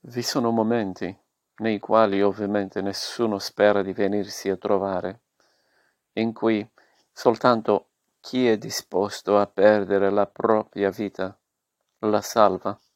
Vi sono momenti nei quali ovviamente nessuno spera di venirsi a trovare, in cui soltanto chi è disposto a perdere la propria vita la salva.